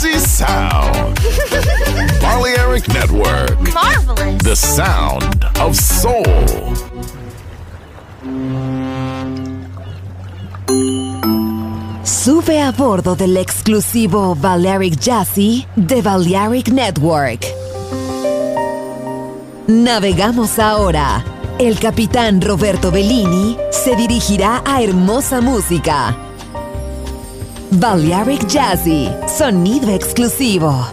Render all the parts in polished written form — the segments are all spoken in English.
Jazzy sound. Balearic Network. Marvelous. The sound of soul. Sube a bordo del exclusivo Balearic Jazzy de Balearic Network. Navegamos ahora. El capitán Roberto Bellini se dirigirá a hermosa música. Balearic Jazzy, sonido exclusivo.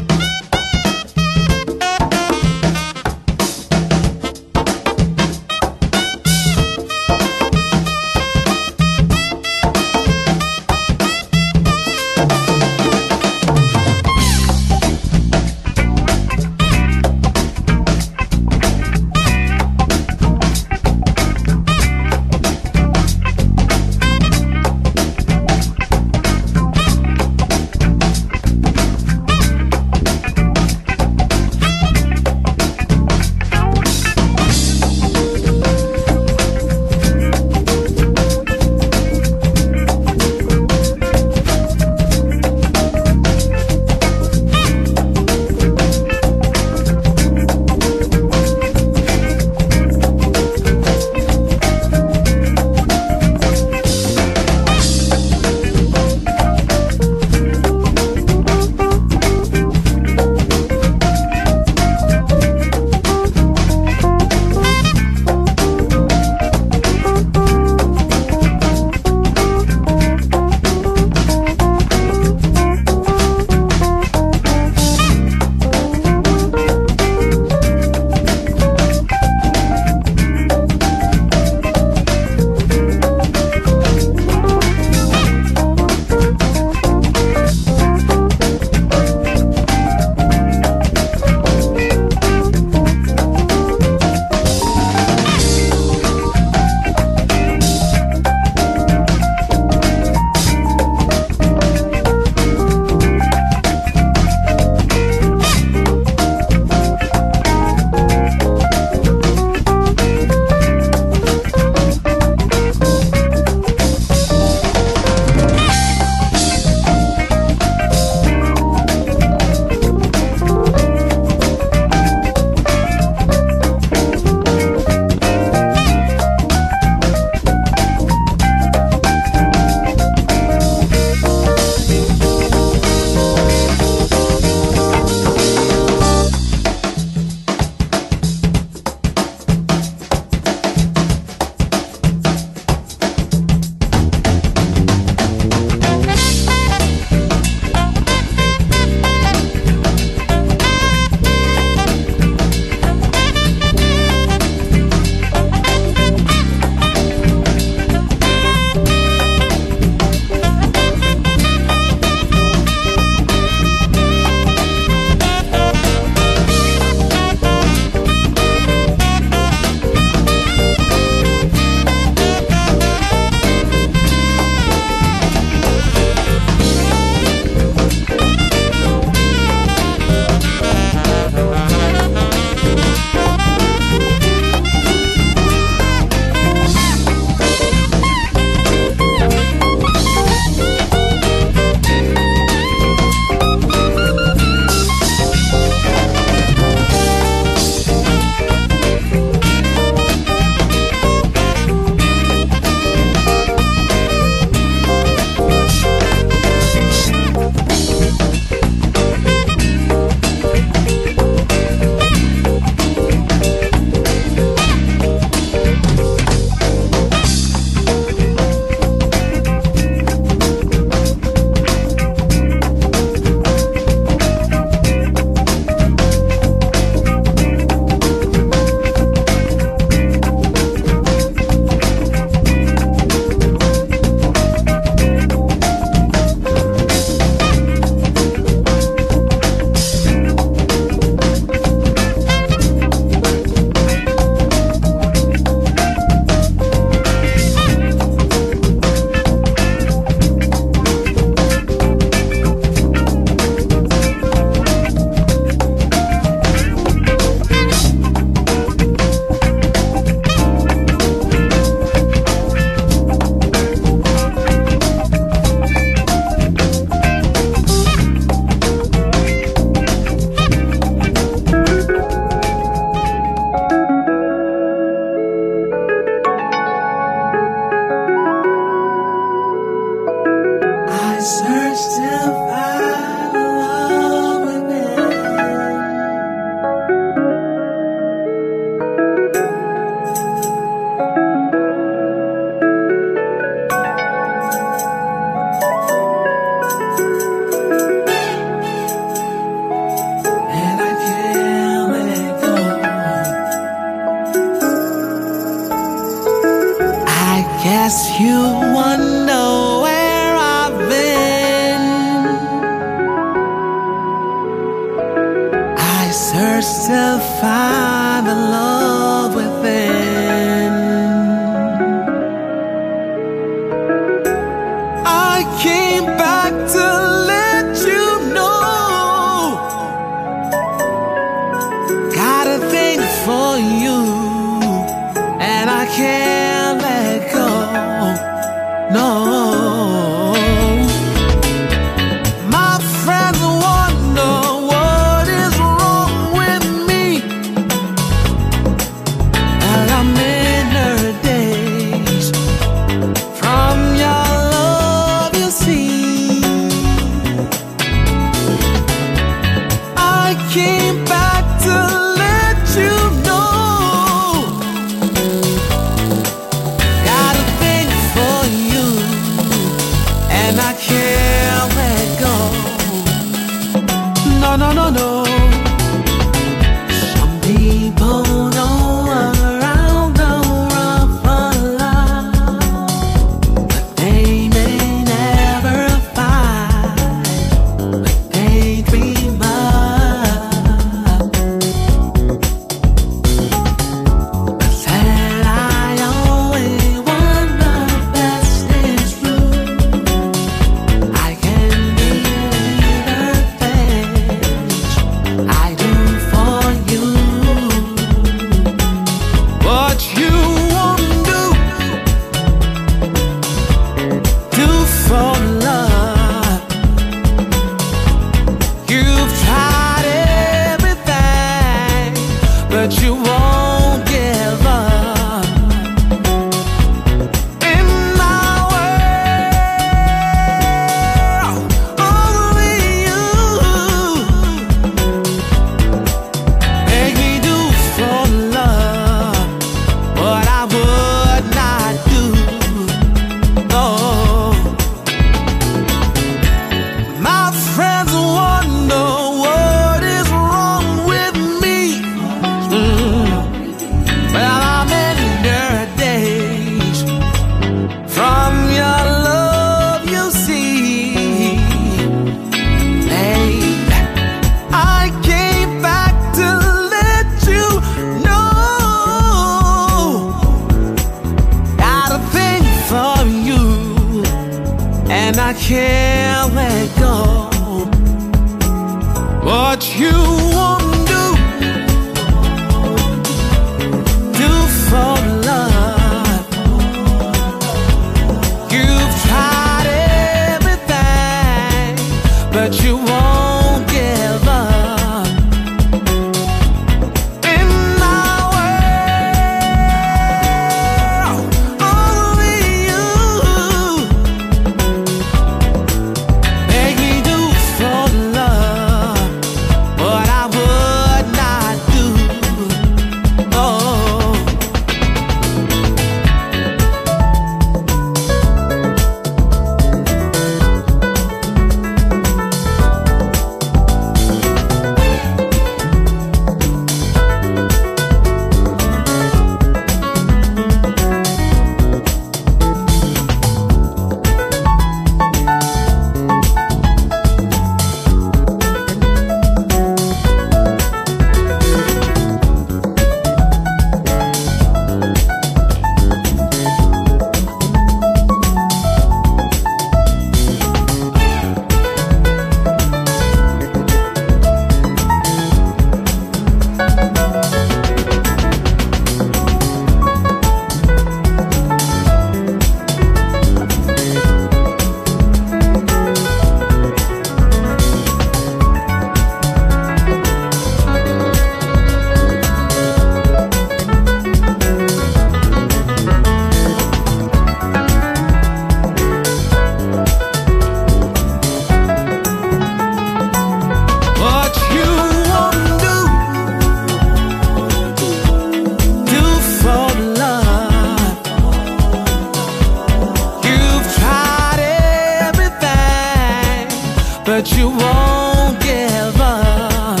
but you won't give up.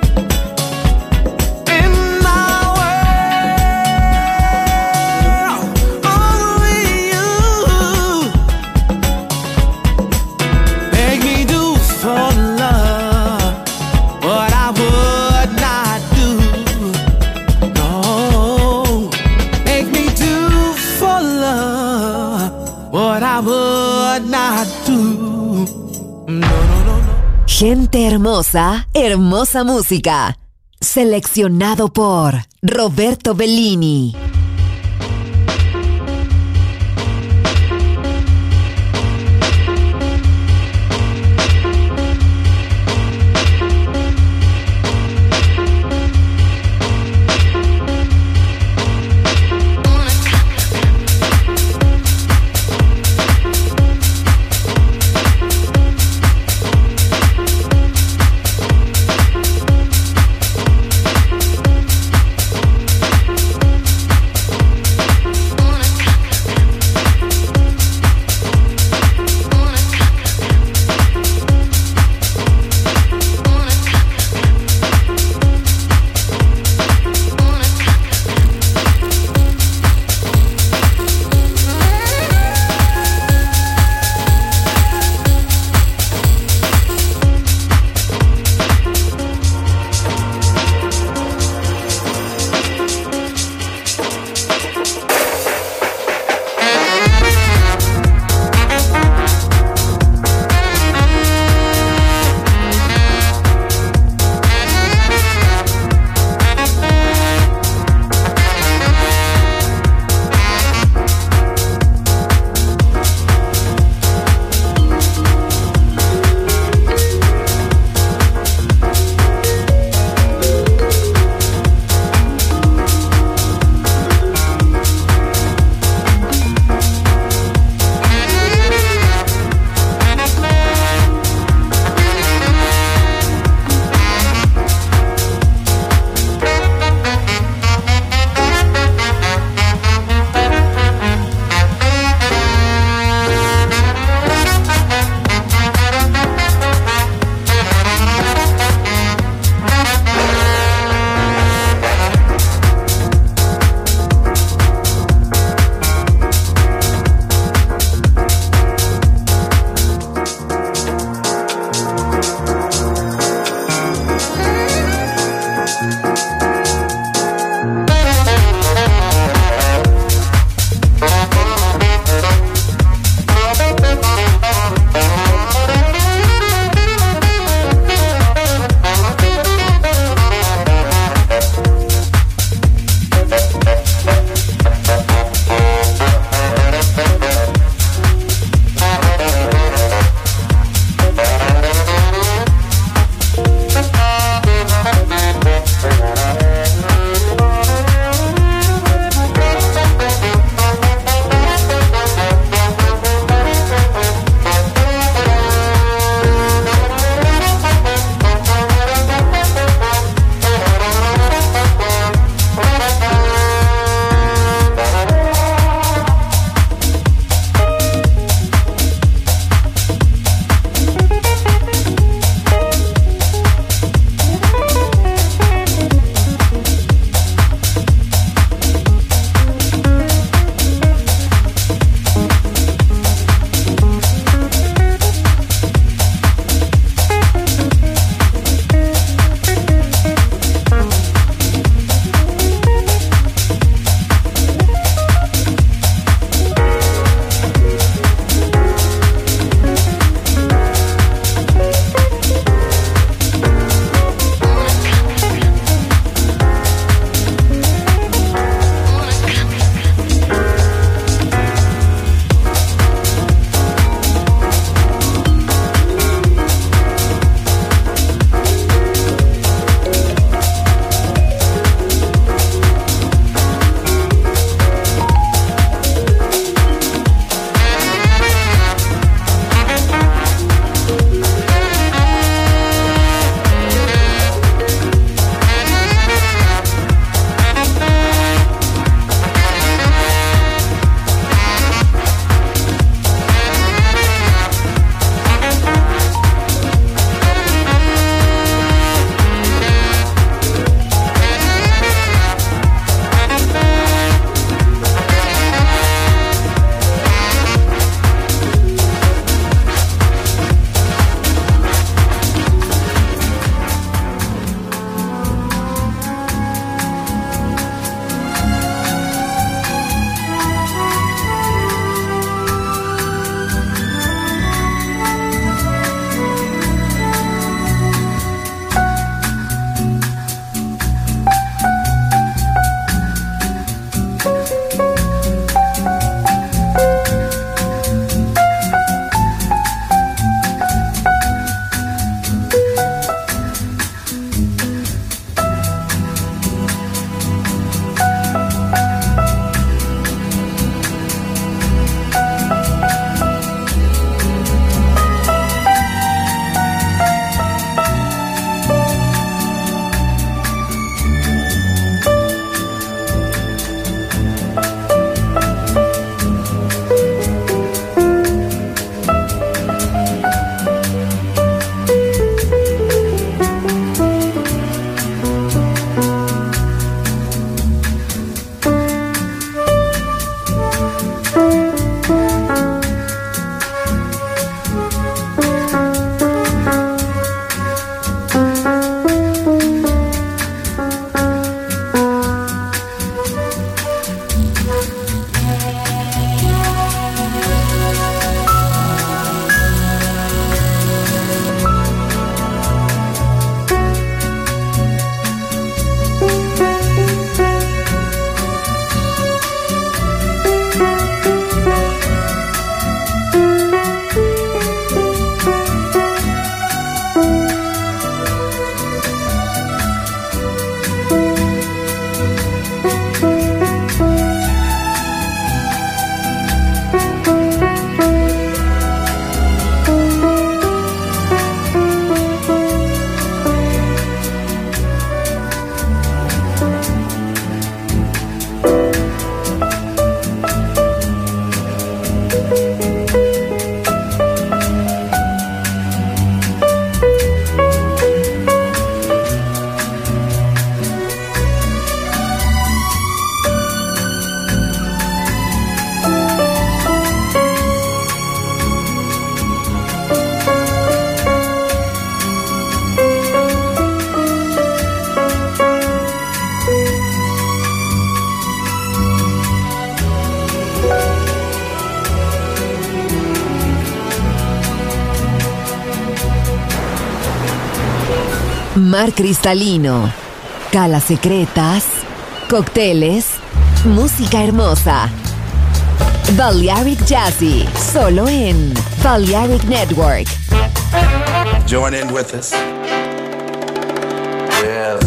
In my world, only you make me do for love what I would not do. No, make me do for love what I would not do. Gente hermosa, hermosa música. Seleccionado por Roberto Bellini. mar cristalino, calas secretas, cócteles, música hermosa. Balearic Jazzy, solo en Balearic Network. Join in with us. Yes.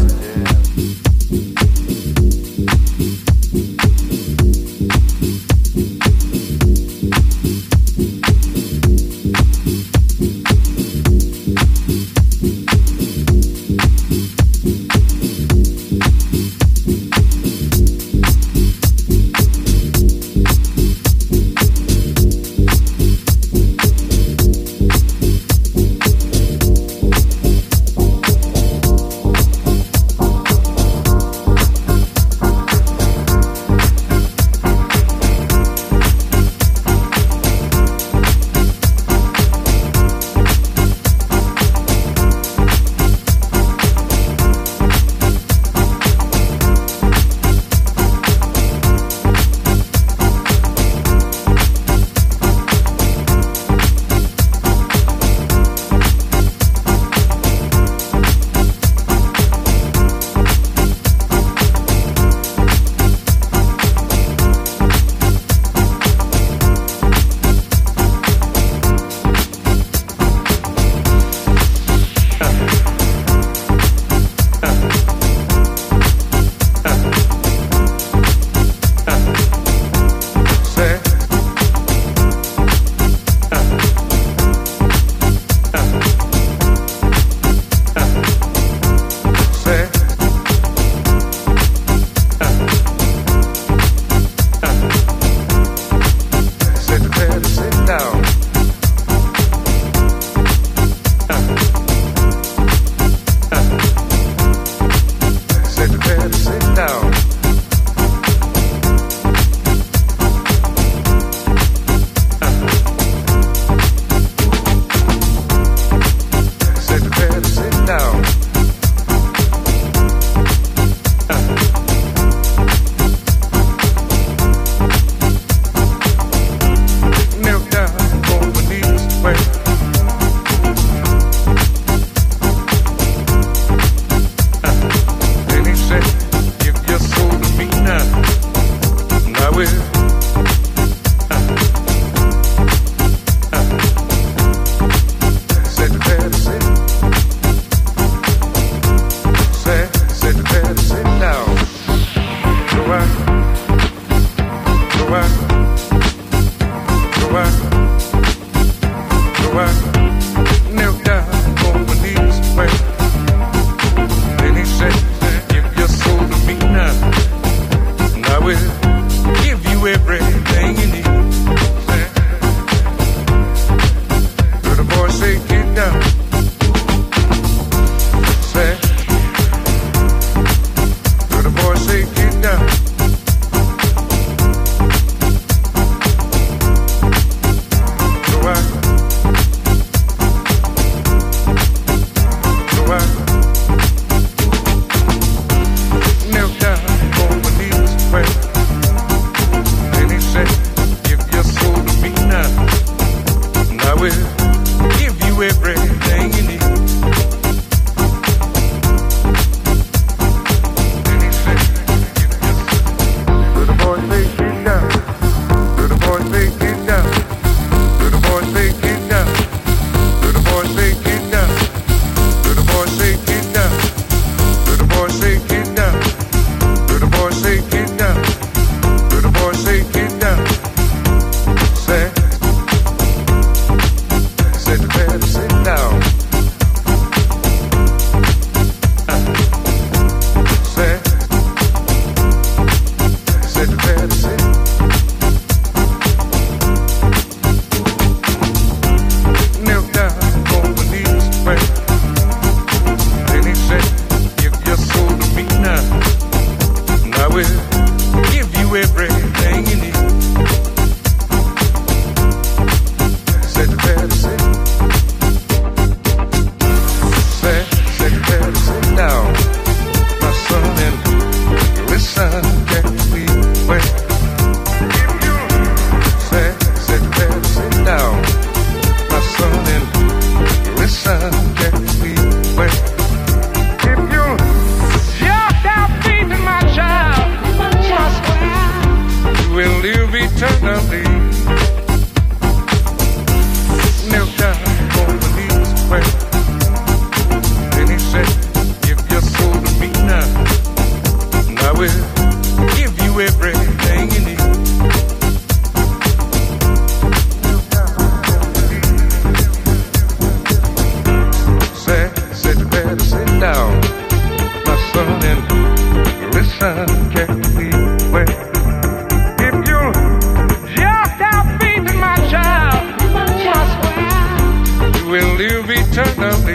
live eternally.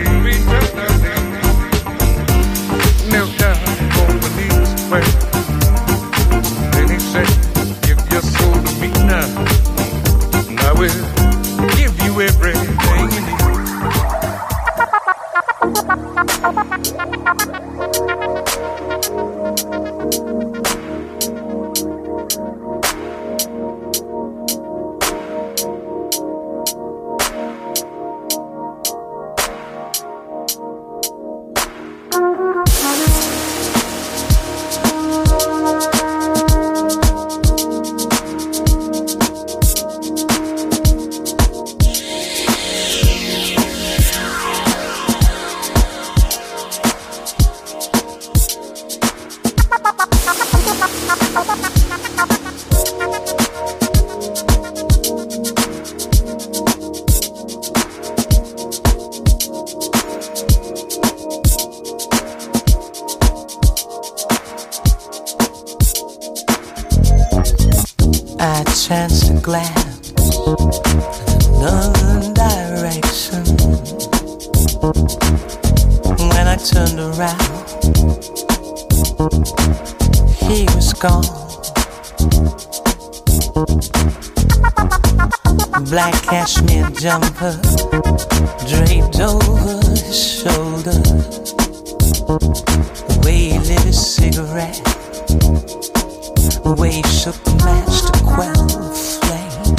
Kneel down on my knees, well. Then he said, give your soul to me now, and I will give you everything you need. I chanced to glance in another direction. When I turned around, he was gone. Black cashmere jumper draped over his shoulder. The way he lit his cigarette, the way he shook the match to quell the flame.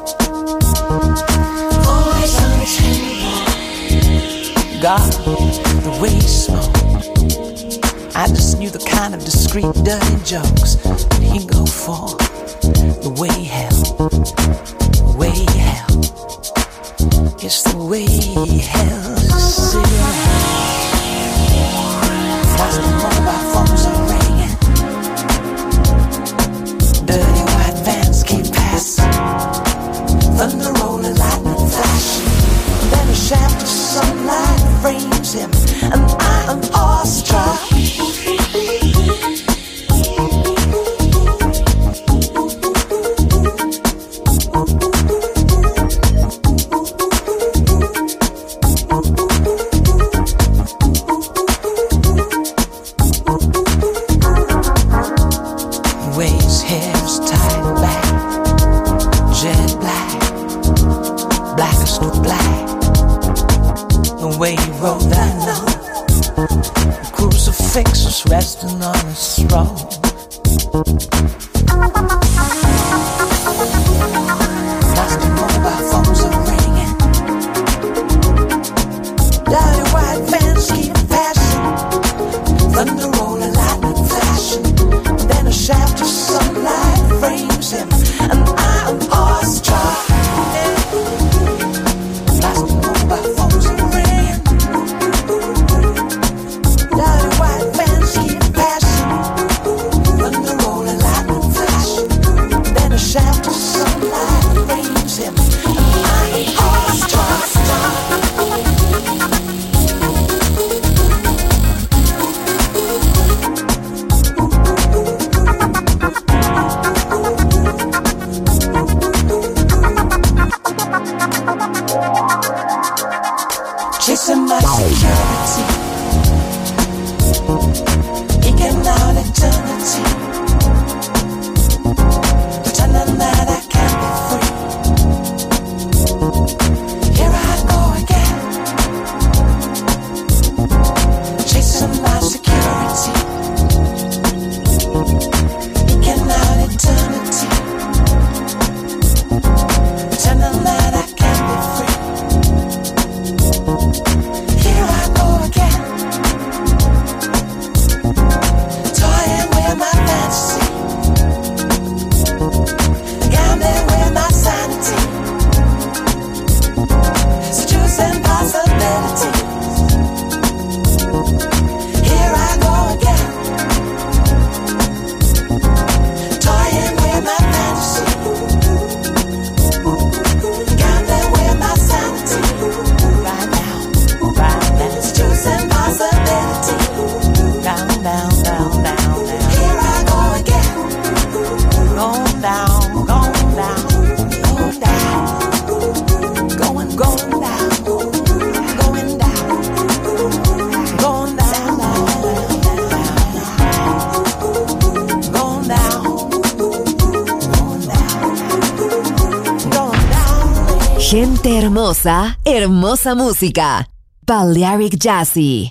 Always on the table. God, the way he smoked, I just knew the kind of discreet, dirty jokes that he'd go for. The way he held, the way he held, it's the way he held his cigarette. As the mobile phones are ringing, dirty white vans keep passing, thunder rolling, lightning flashing. Then a shaft of sunlight frames him, and I am awestruck. Resting on his throne. As the mobile phones are ringing, dirty white vans keep passing, thunder rolling, lightning flashing. Then a shaft of sunlight frames him, and I am awestruck. As the mobile phones are ringing, dirty white vans keep passing, thunder rolling, lightning flashing. Then a shaft of sunlight frames him, and I am awestruck. Chasing my security, eking out eternity, pretending that I can't be free. Here I go again, chasing my security, eking out eternity, pretending that I can't be free. Here I go again, toying with my fantasy, gambling with my sanity, seducing possibilities. Here I go again, toying with my fantasy, gambling with my sanity. Right now, right Gente hermosa, hermosa música. Balearic Jazzy.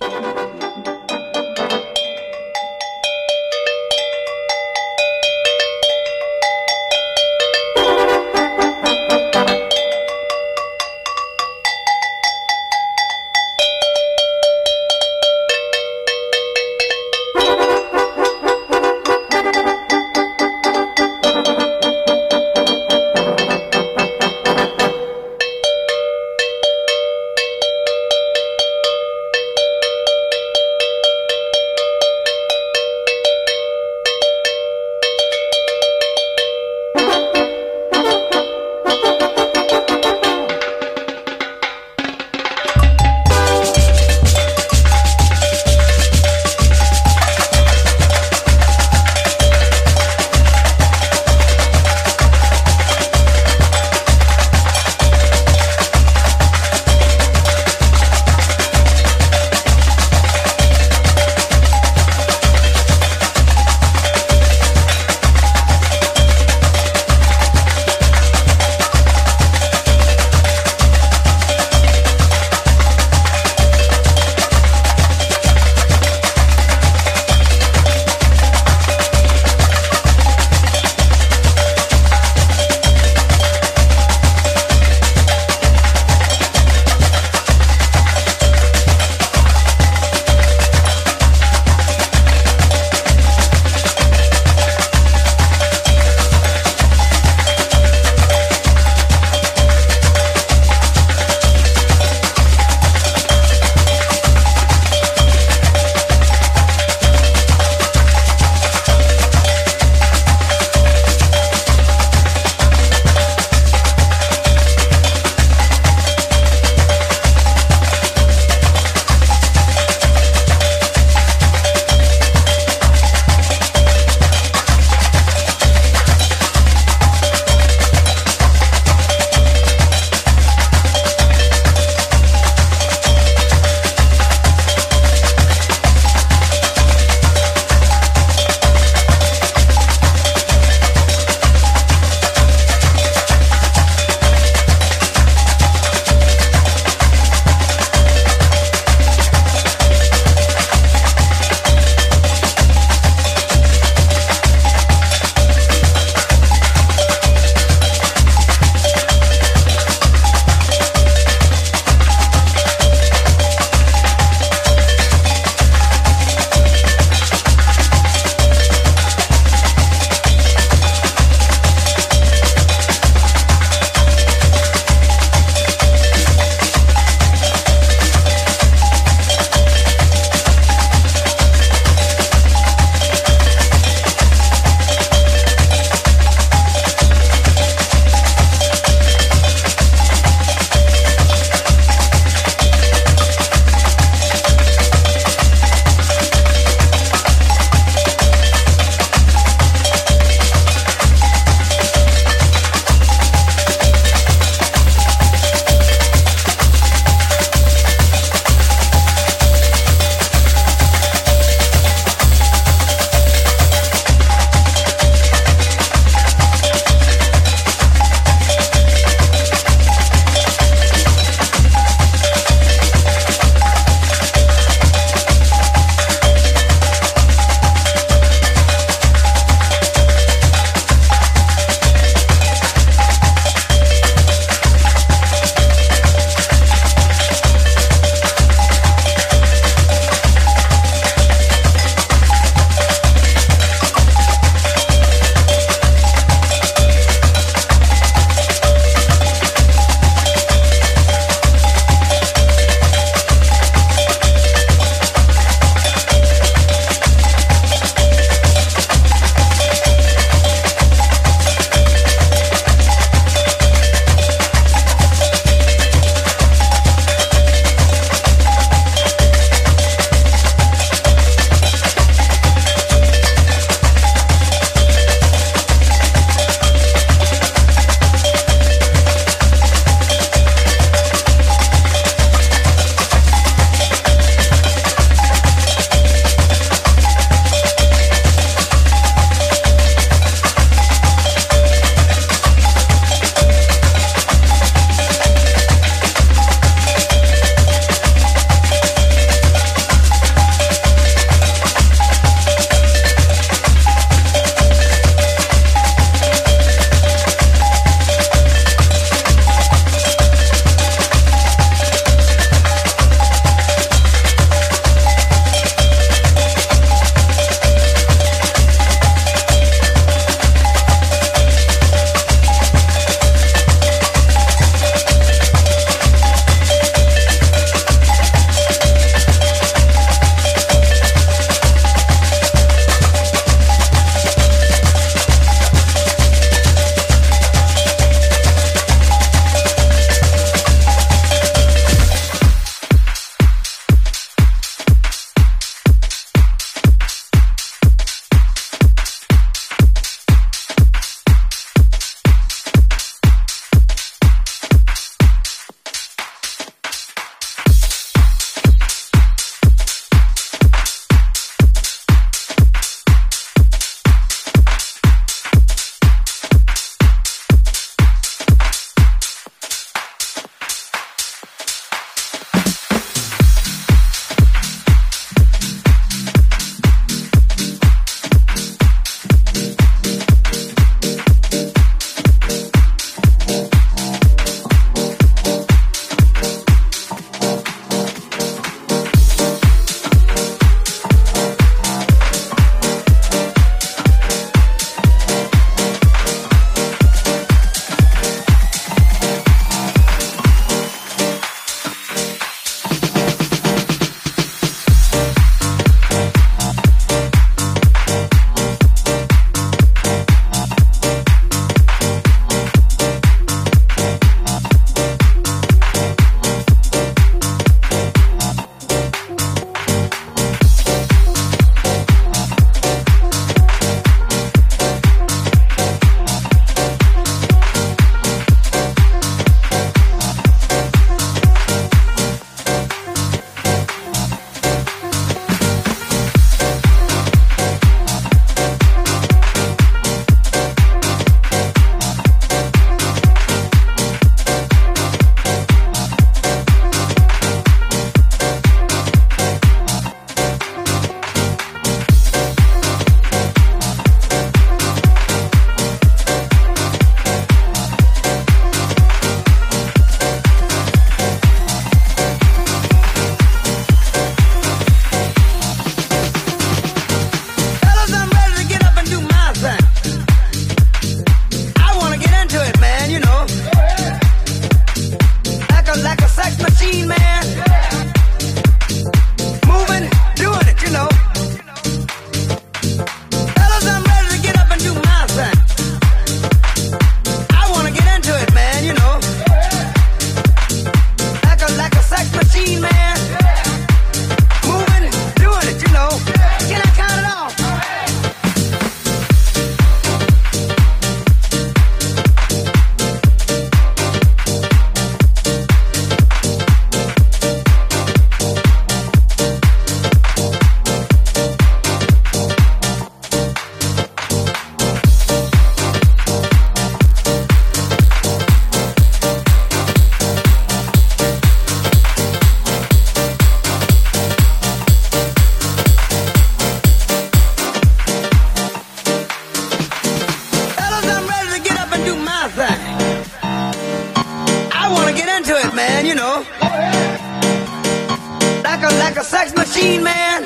like a sex machine, man.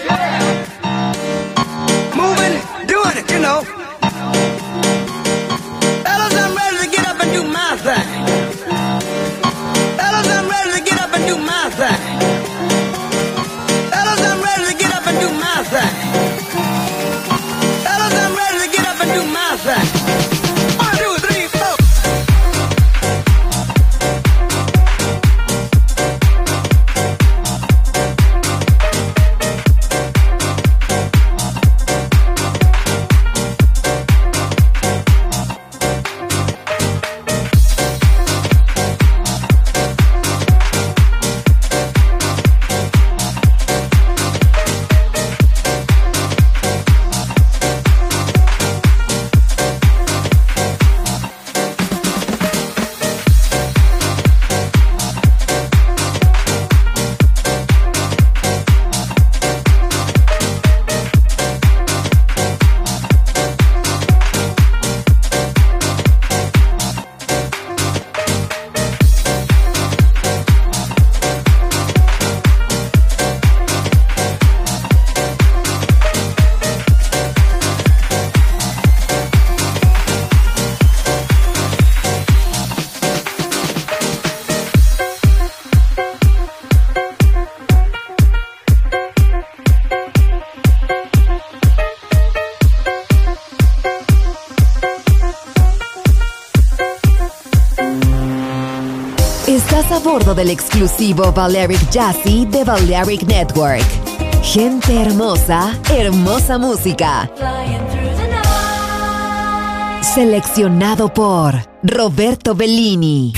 Moving, doing it, you know. Fellas, I'm ready to get up and do my thing. Fellas, I'm ready to get up and do my thing. Fellas, I'm ready to get up and do my thing. Fellas, I'm ready to get up and do my thing. 1, 2, 3, 4. Estás a bordo del exclusivo Balearic Jazzy de Balearic Network. Gente hermosa, hermosa música. Seleccionado por Roberto Bellini.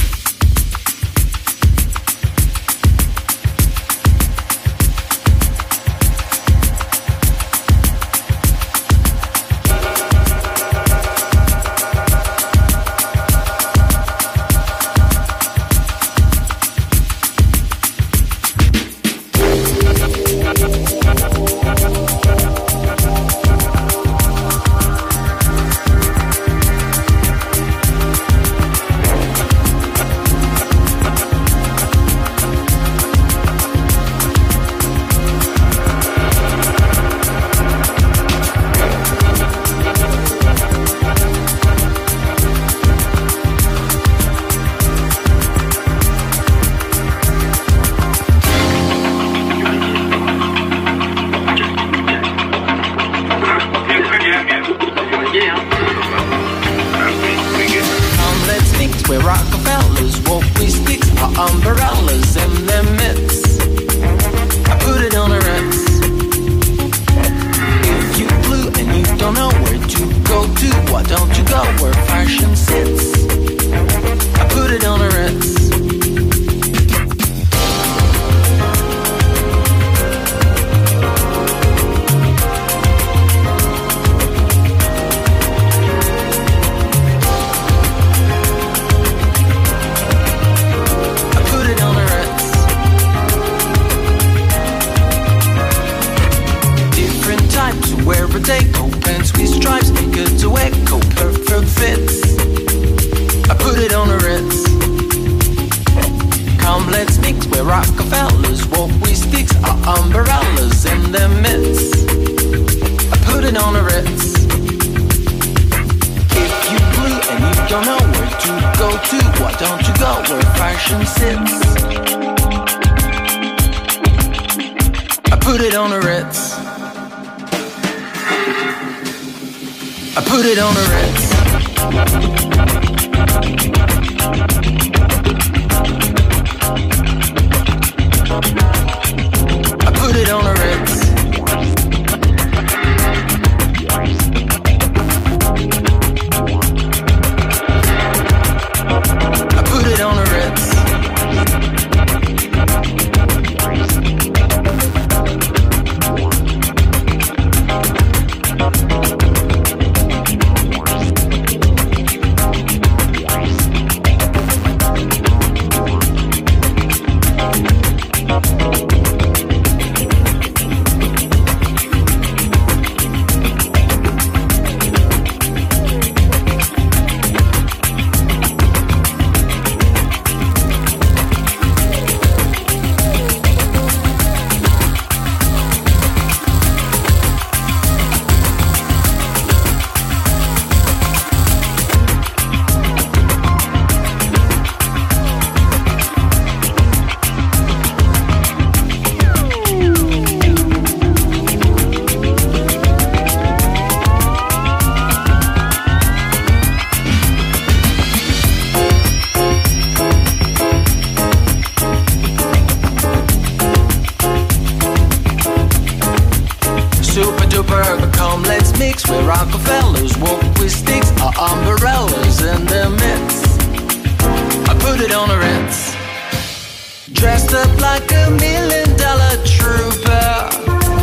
sticks, where Rockefellers walk with sticks, or umbrellas in their midst. I put it on the Ritz, dressed up like $1 million trooper.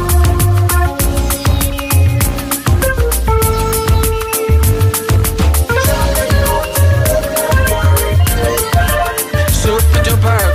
Super duper.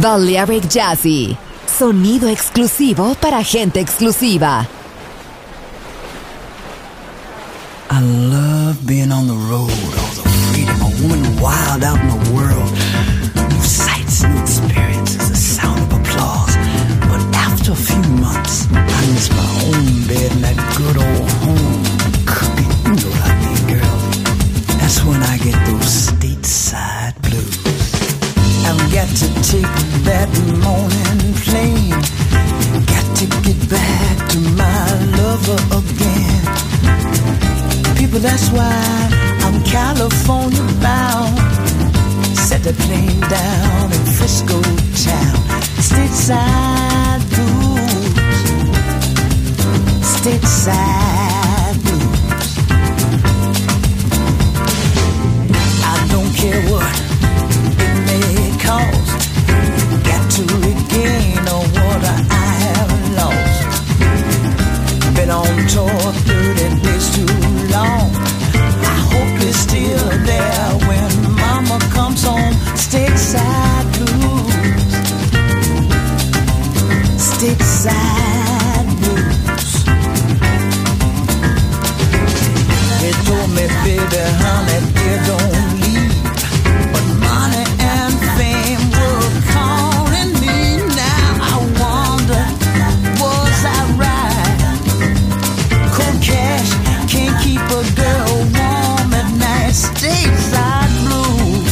Balearic Jazzy. Sonido exclusivo para gente exclusiva. I love being on the road, all the freedom, a woman wild out in the world. New sights, new experiences, the sound of applause. But after a few months, I miss my own bed and that good old home cooking. You know what I mean, girl? That's when I get those stateside blues. I've got to take that morning plane. Got to get back to my lover again. People, that's why I'm California bound. Set the plane down in Frisco town. Stateside blues. Stateside blues. I don't care what it may cost. Got to regain what I have lost. Been on tour 30 days too long. I hope you're still there when mama comes home. Stateside blues. Stateside blues. They told me, baby, honey, they don't leave. But money and fame were calling me. Now I wonder, was I right? Cold cash can't keep a girl warm at night. Stateside blues.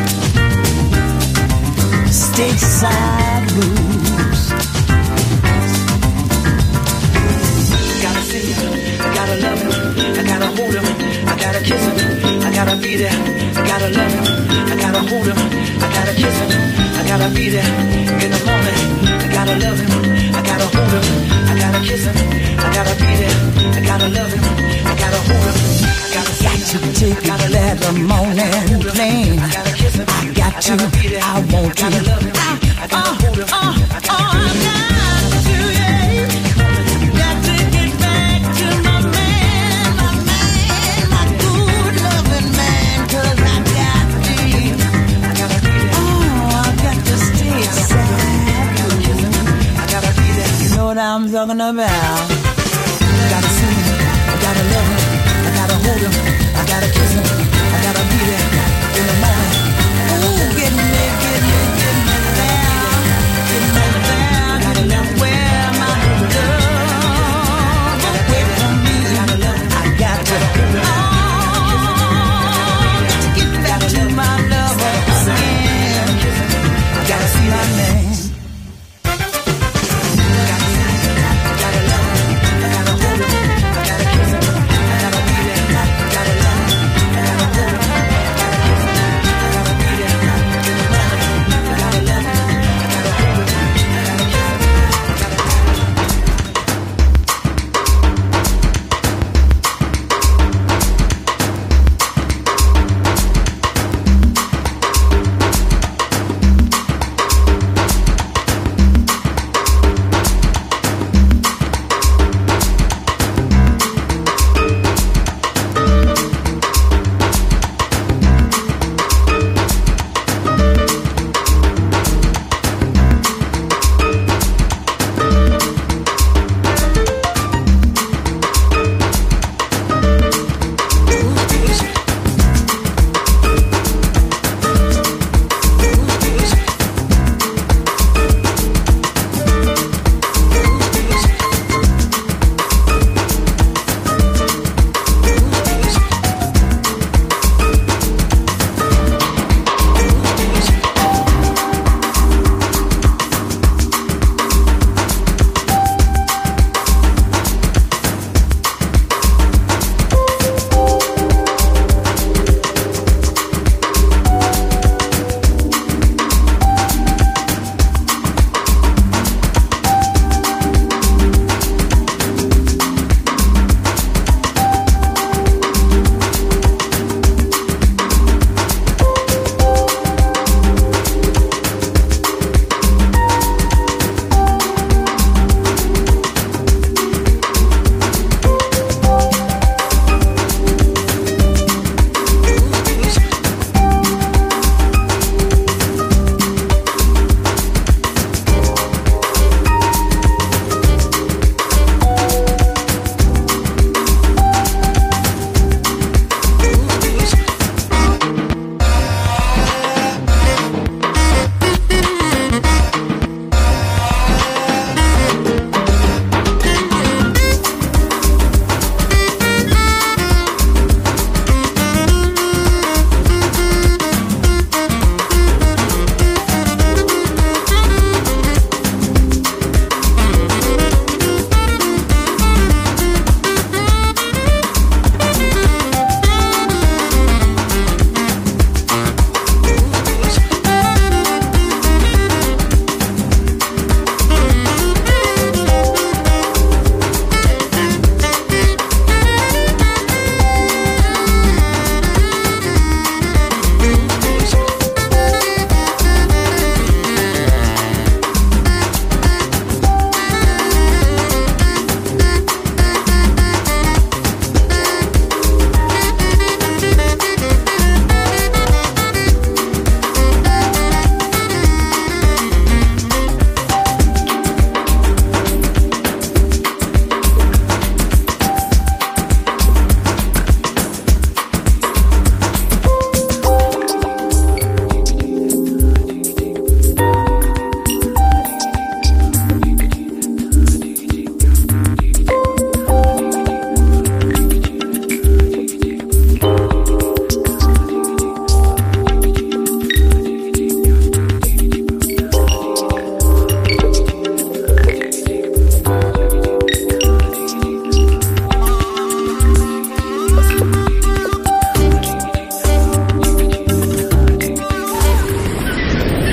Stateside blues. Gotta see him, I gotta love him, I gotta hold him, I gotta kiss him, I gotta be there, I gotta love him, I gotta hold him, I gotta kiss him, I gotta be there in the morning, I gotta love him, I gotta hold him, I gotta kiss him, I gotta be there, I gotta love him, I gotta hold him, I gotta take that morning plane. I got to, I want to, I got to, yeah. Got to get back to my man, my good loving man, 'cause I got to, I got to stay aside. I gotta be there. You know what I'm talking about? I gotta see him, I gotta love him, I gotta hold him.